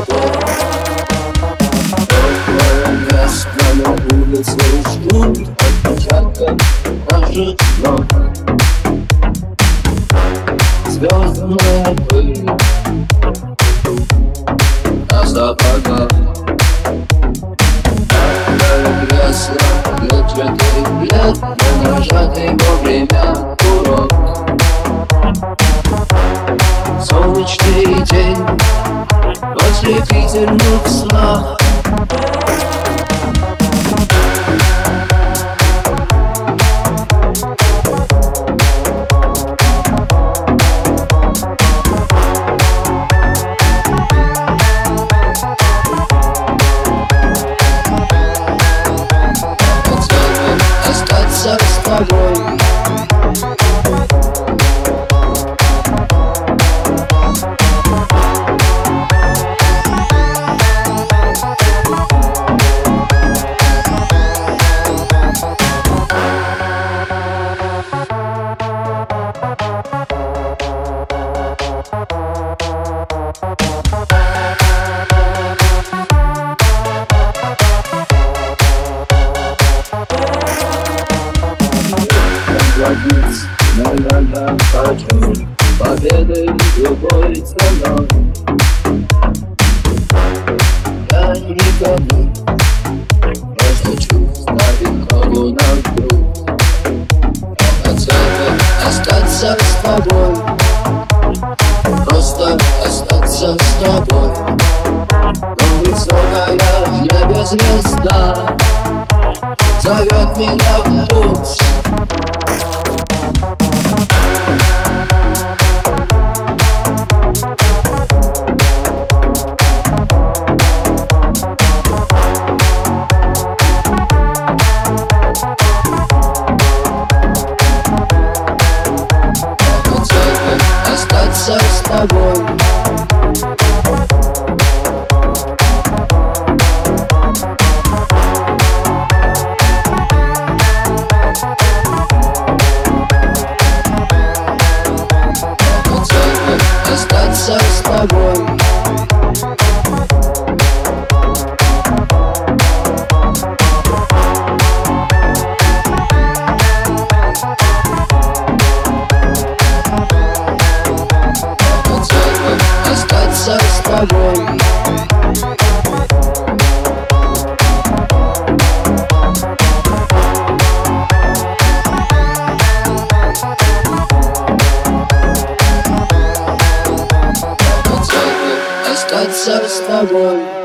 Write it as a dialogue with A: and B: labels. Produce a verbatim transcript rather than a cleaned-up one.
A: тобой. Твое место на улице ждут отпечатков наших ног. Звездная пыль на сапогах. Кресло клетчатых лет, не нажатый вовремя курок. Солнечный день в ослепительных снах. Остаться с тобой. Наверное, хочу победы любой ценой. Я никому просто чувствую крову на грудь. Я хотел остаться с тобой, просто остаться с тобой. Но высокая в небе звезда зовет меня в путь. Остаться с тобой. Остаться с тобой. Остаться с тобой. Остаться с тобой.